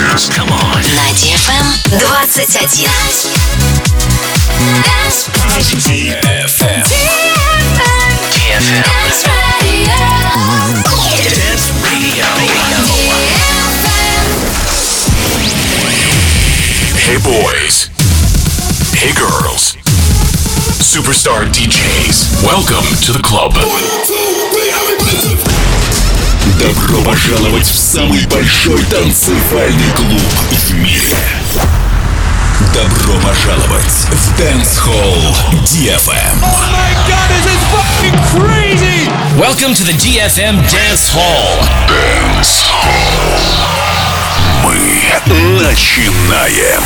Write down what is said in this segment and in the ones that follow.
Come on. На DFM 21. DFM. Dance Radio. Hey boys. Hey girls. Superstar DJs. Welcome to the club. Добро пожаловать в самый большой танцевальный клуб в мире. Добро пожаловать в Dance Hall DFM. Oh my god, this is fucking crazy! Welcome to the DFM Dance Hall. Dance Hall. Мы начинаем.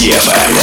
DFM.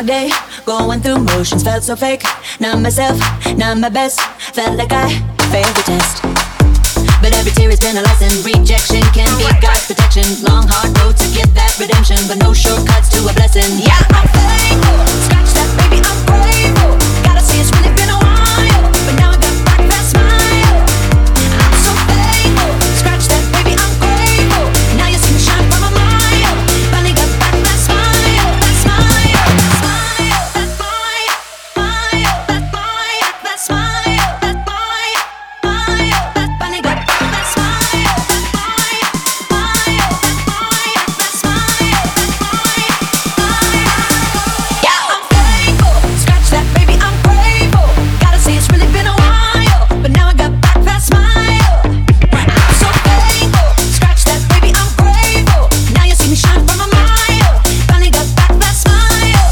my day, going through motions, felt so fake. Not myself, not my best. Felt like I failed the test. But every tear has been a lesson. Rejection can be God's protection. Long hard road to get that redemption, but no shortcuts to a blessing. Yeah, I'm thankful. Scratch that, baby, I'm grateful. Gotta say it's really been a while, but now I got back that smile. I'm so thankful. Scratch that, baby, I'm grateful. Now you see me shine from a mile. Finally got back that smile, that smile, that smile, that smile, smile, that smile, that smile, that smile, smile, that finally got back that smile, that smile, smile, that smile, that smile, that smile. Yeah, I'm thankful. Scratch that, baby, I'm grateful. Gotta say it's really been a while, but now I got back that smile. I'm so thankful. Scratch that, baby, I'm grateful. Now you see me shine from a mile. Finally got back that smile.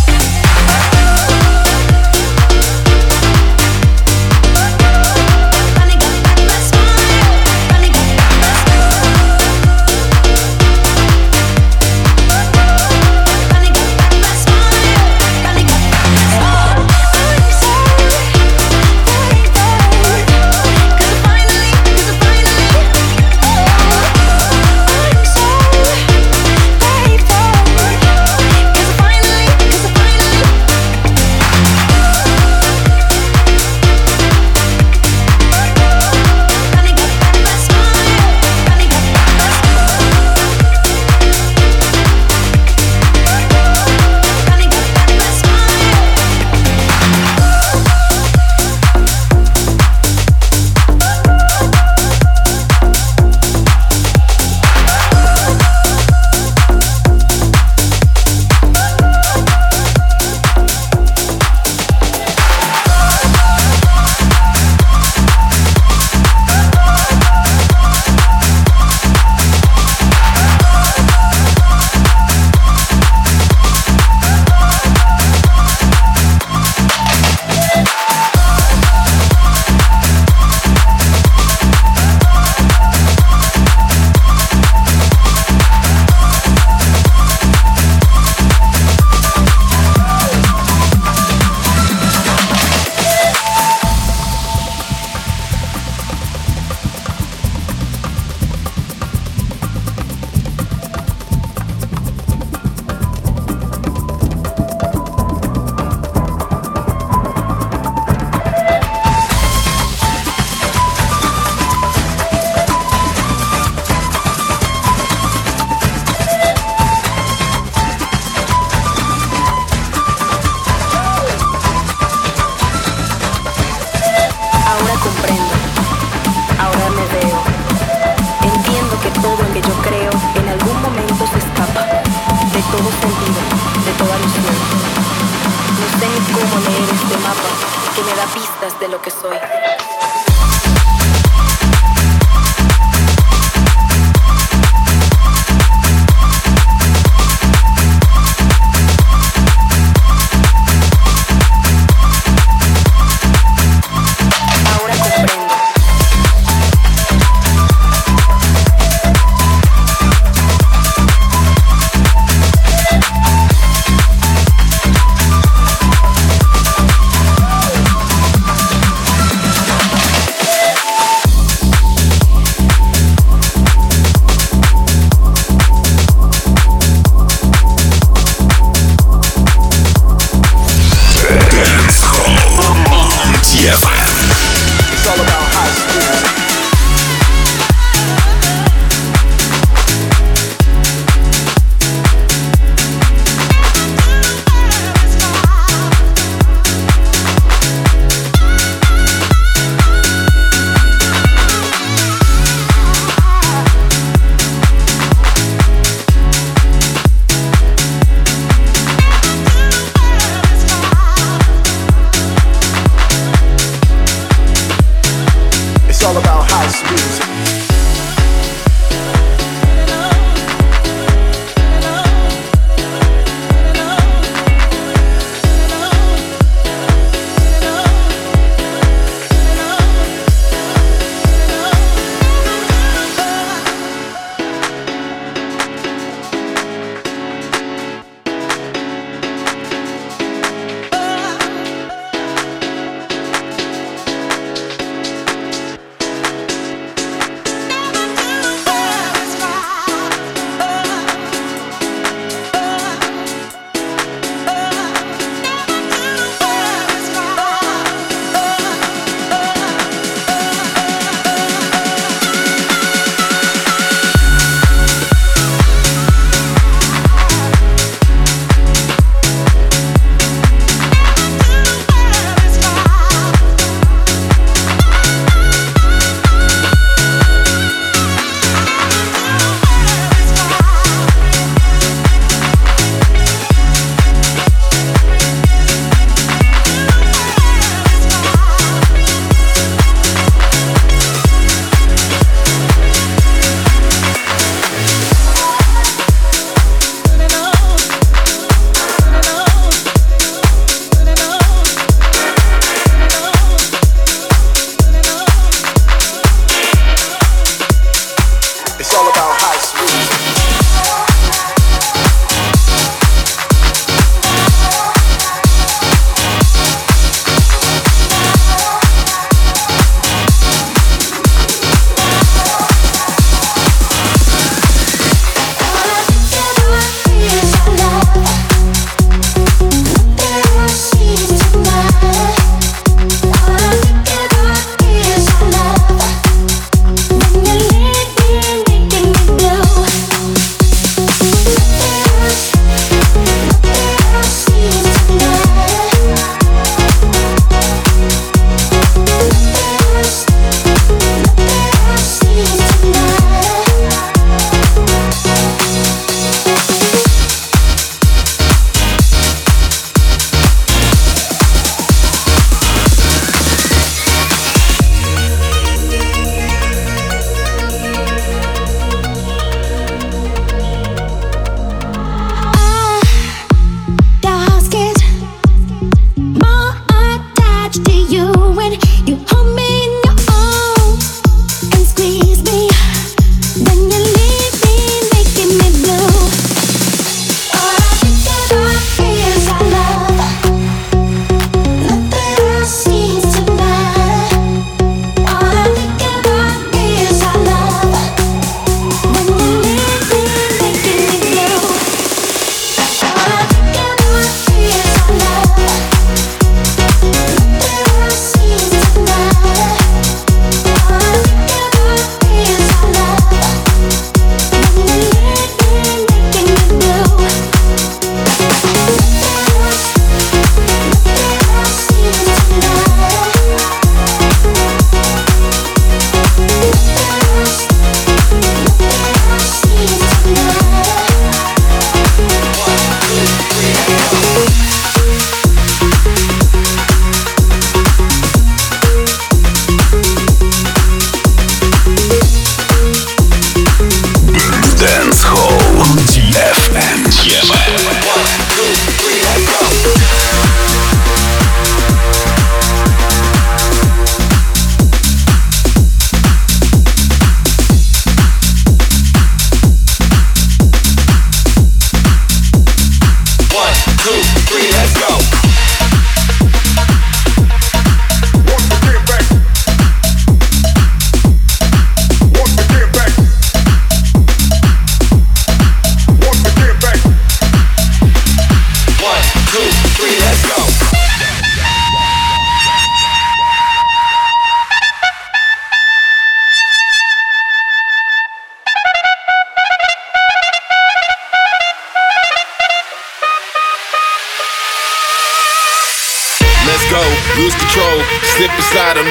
Finally got back that smile. Finally got back that smile. Finally got back that smile. Finally got back that smile. I'm so thankful. 'Cause I finally, I'm so thankful. 'Cause I finally, finally got back that smile. Finally got back that smile. Finally got back that Ahora comprendo, ahora me veo. Entiendo que todo en que yo creo en algún momento se escapa de todo sentido, de toda ilusión. No sé ni cómo leer este mapa que me da pistas de lo que soy. Ahora comprendo.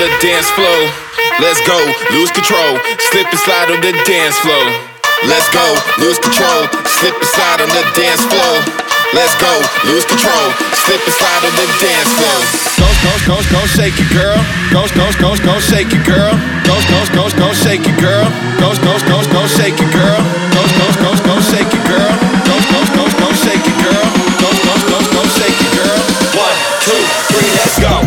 the dance floor. Let's go, lose control, slip and slide on the dance floor. Let's go, lose control, slip and slide on the dance floor. Let's go, lose control, slip and slide on the dance floor. Go, shake it, girl. Go, shake it, girl. Go, shake it, girl. Go, shake it, girl. Go, shake it, girl. Go, shake it, girl. Go, shake it, girl. 1, 2, 3, let's go.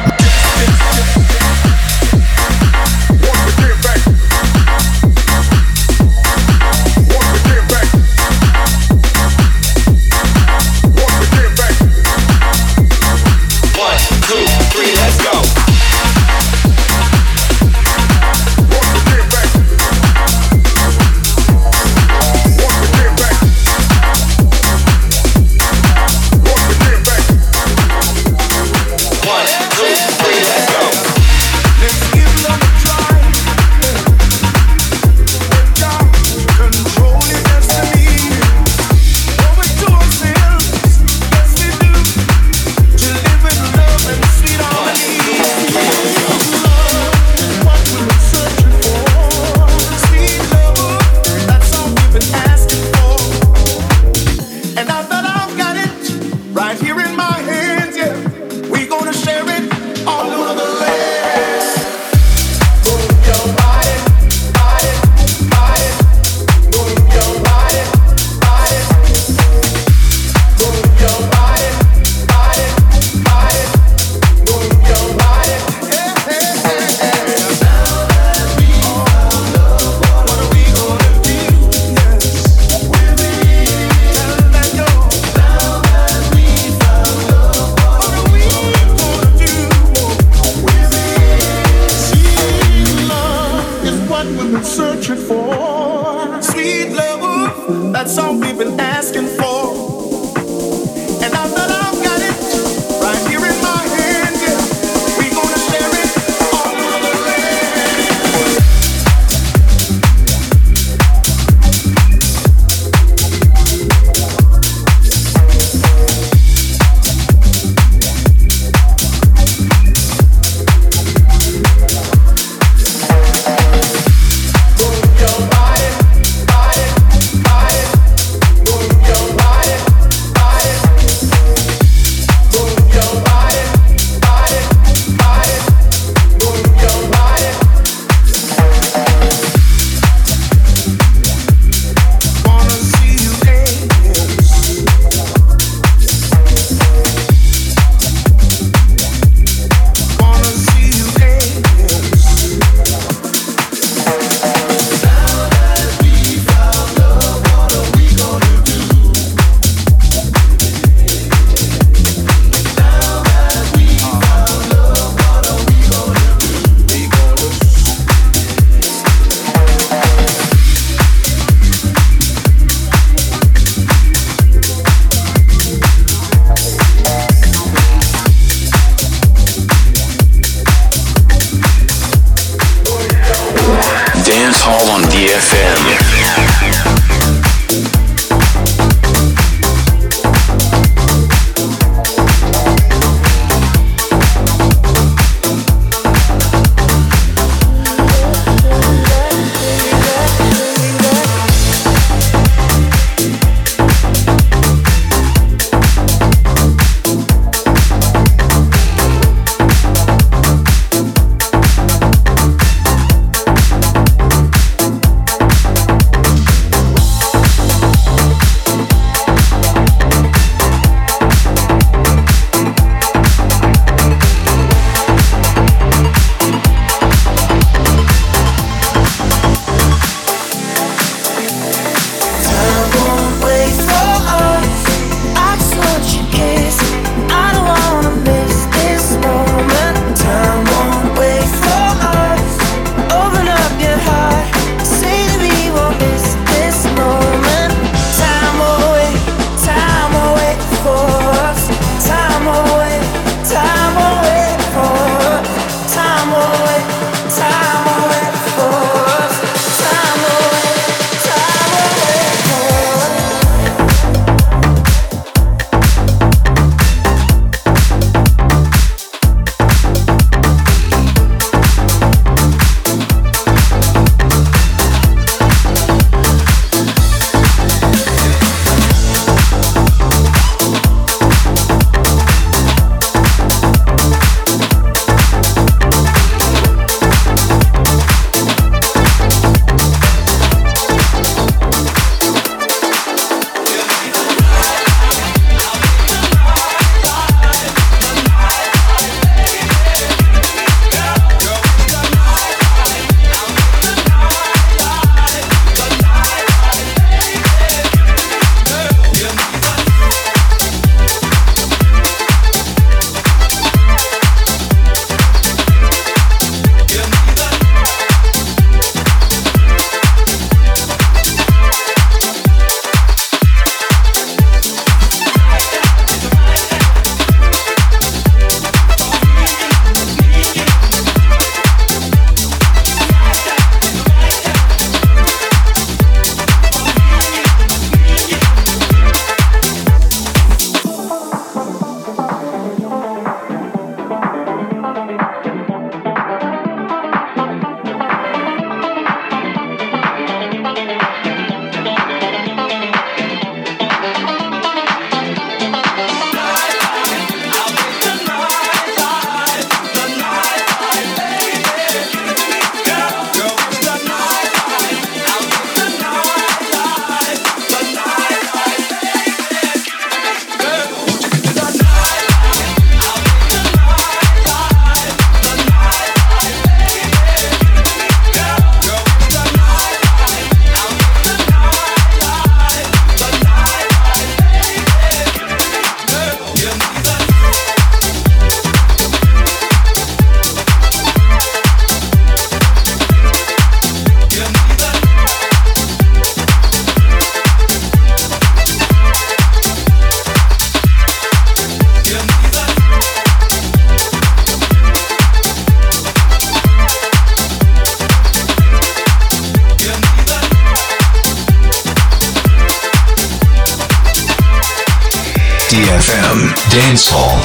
Dance Hall.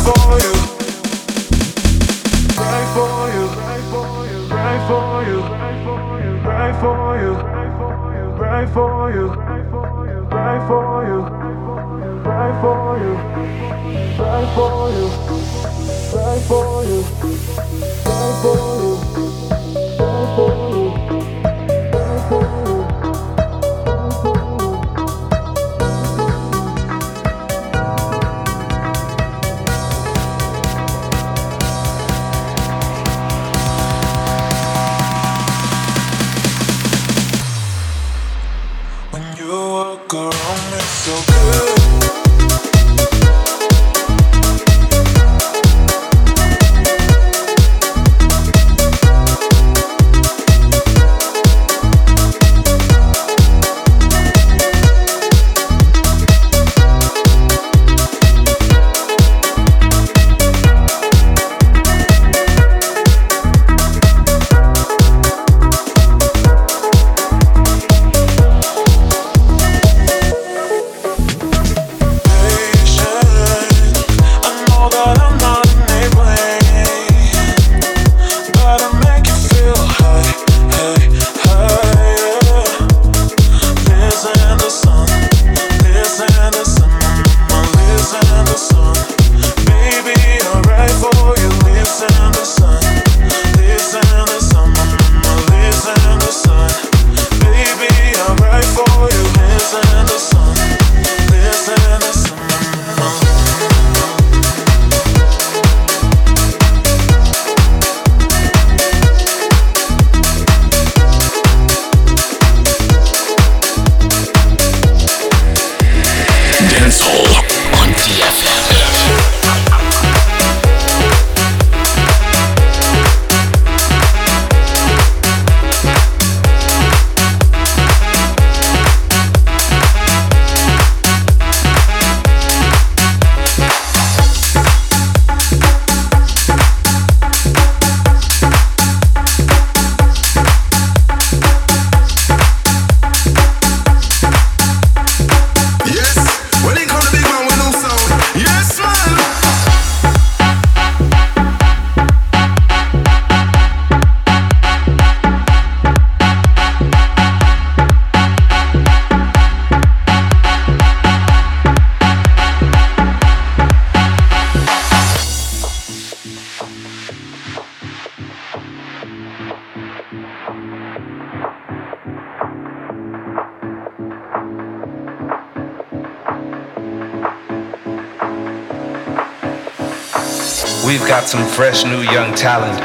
We've got some fresh new young talent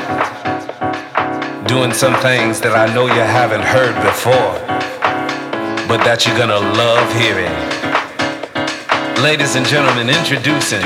doing some things that I know you haven't heard before, but that you're gonna love hearing. Ladies and gentlemen, introducing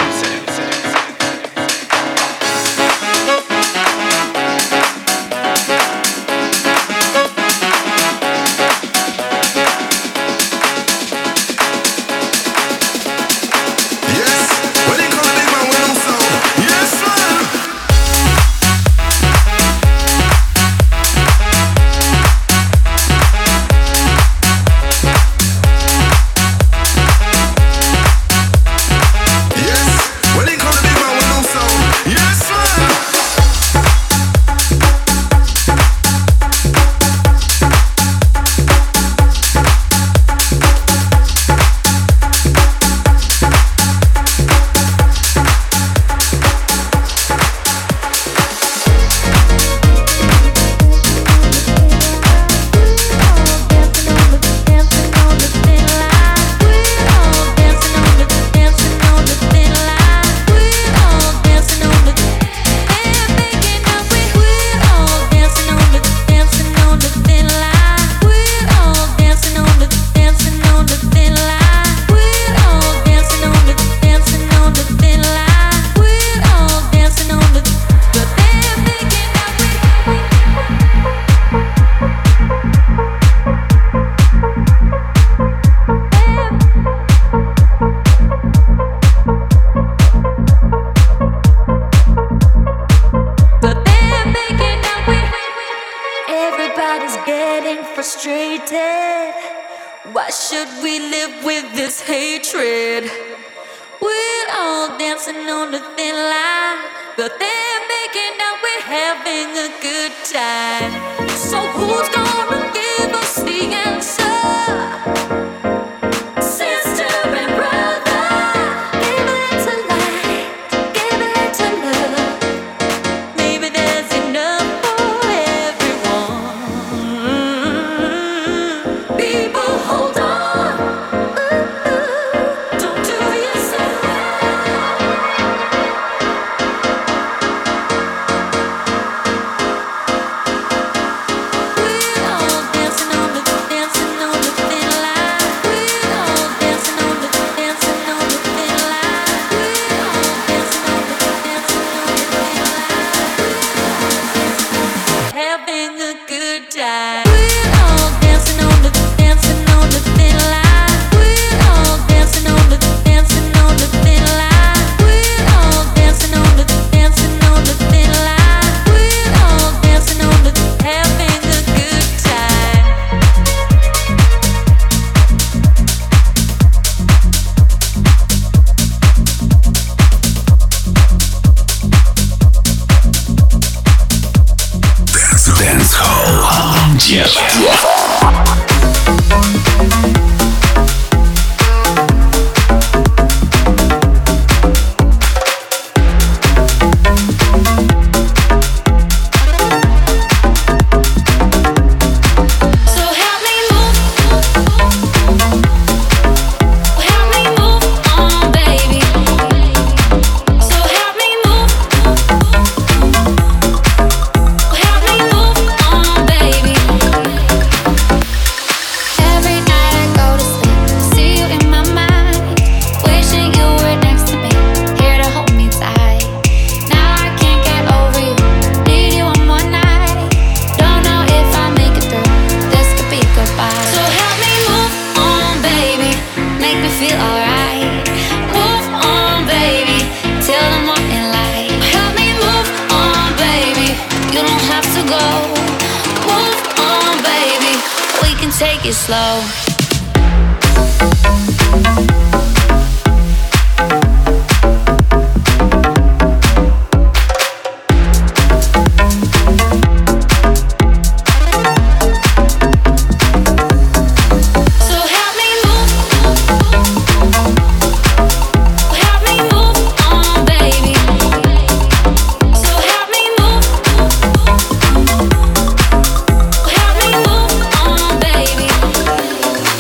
Why should we live with this hatred? We'll all dancing on the thin line, but they're making out we're having a good time. So who's gonna give us the answer? Sister and brother, give it to light, give it to love. Maybe there's enough for everyone. People, hold on. Don't do yourself. We're all dancing on the thin line. We're all dancing on the thin line. We're all dancing on the thin line. Having a good time. We're all dancing on the thin line. We're all dancing on the thin line. We're all dancing on the thin line. We're all dancing on the having a good time. Dance Hall on DFM. So help me move on, baby. So help me move on, baby. Every night I go to sleep, see you in my mind, wishing you were next to me, here to hold me tight. Now I can't get over you, need you one more night. Don't know if I'll make it through, this could be goodbye. So help me move on, baby, make me feel alright. Move on, baby, till the morning light. Help me move on, baby, you don't have to go. Move on, baby, we can take it slow. So help me move on, baby. So help me move on, baby.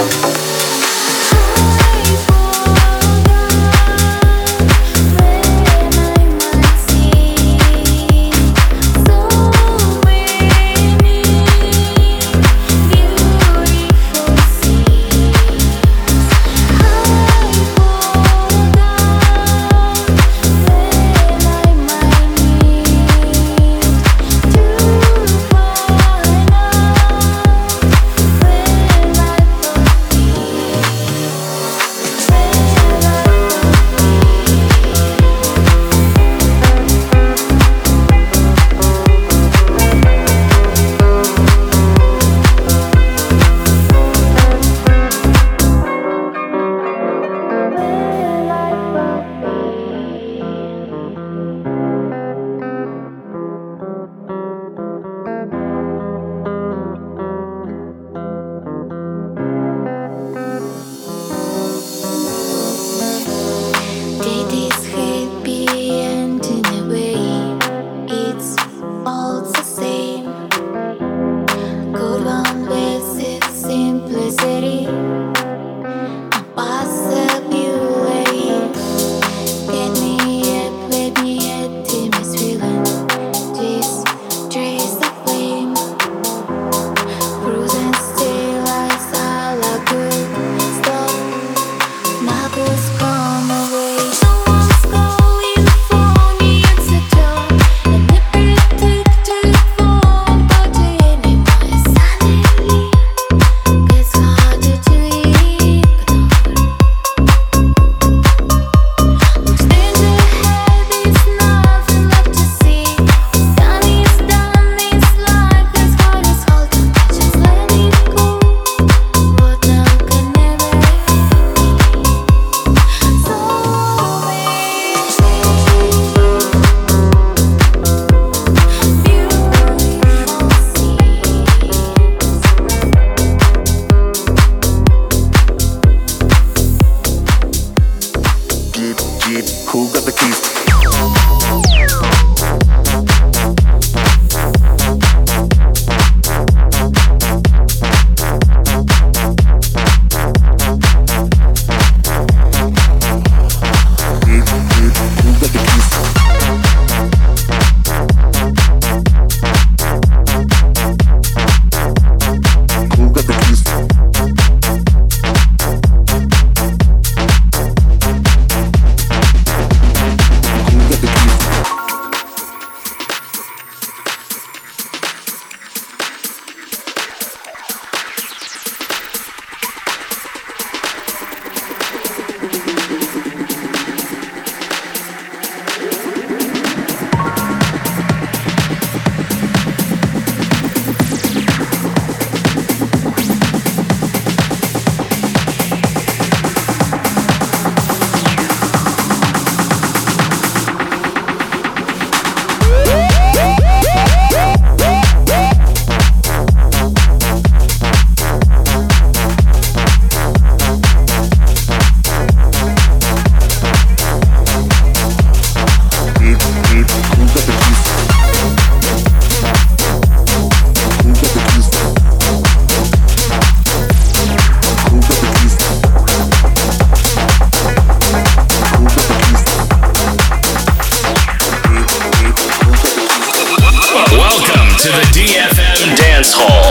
to the DFM Dance Hall.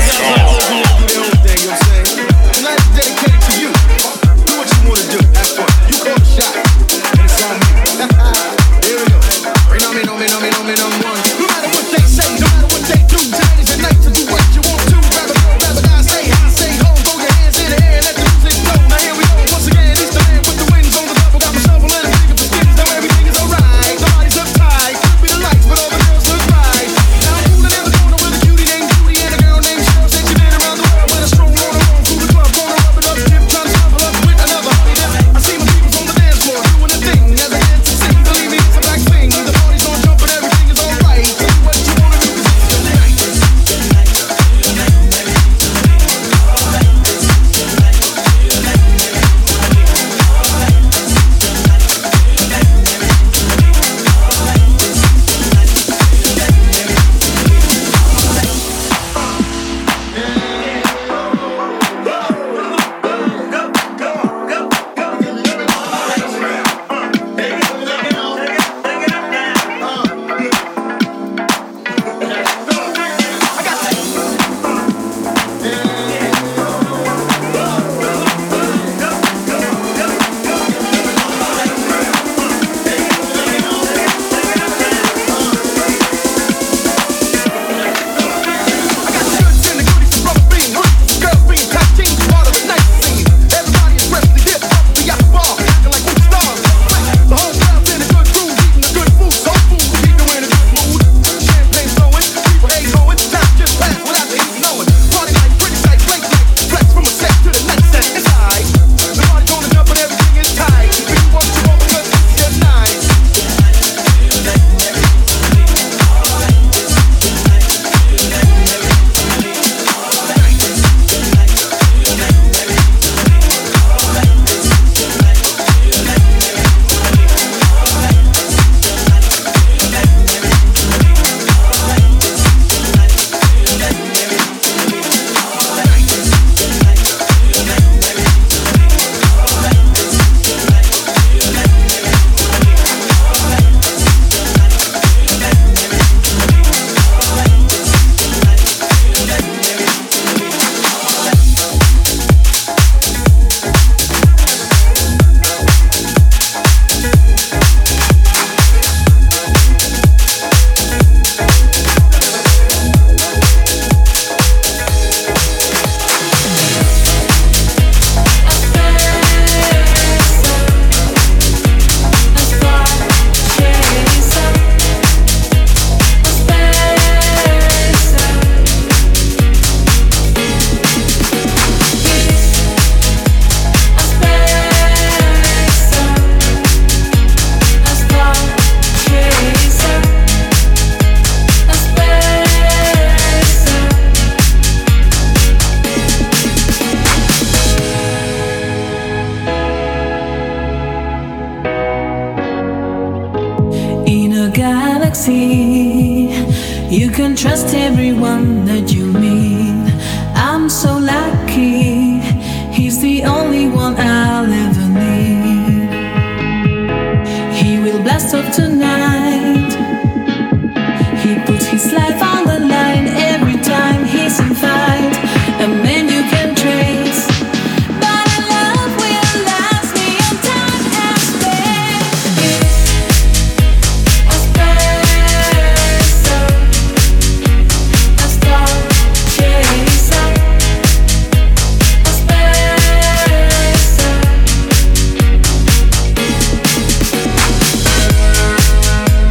Dedicated to you. Do what you want to do. Have fun. You call the shot. And it's on me. Here we go. Rain on me, no me, no me, no me, no one. No matter what they say, no matter what they do, tonight is the night to do what you want to. Grab a girl, grab a guy, say hi, say home, throw your hands in the air, let the music flow. Now here we go. Once again, it's the man with the wings on the level. Got my shovel and I'm digging for skins. Now everything is alright. The body's uptight. Could be the lights, but all the girls look right. Now I'm fooling in the corner with a cutie named Judy and a girl named Cheryl. Said she been around the world with a stroll on her own through the club, gonna rub it up, dip, trying to shuffle up with another honey dip. I see my peoples on the dance floor doing the thing as I dance and sing. Believe me, it's a black thing. The party's gonna jump and everything is alright. Do what you wanna do 'cause it's the night. You can trust everyone that you meet. I'm so lucky, he's the only one.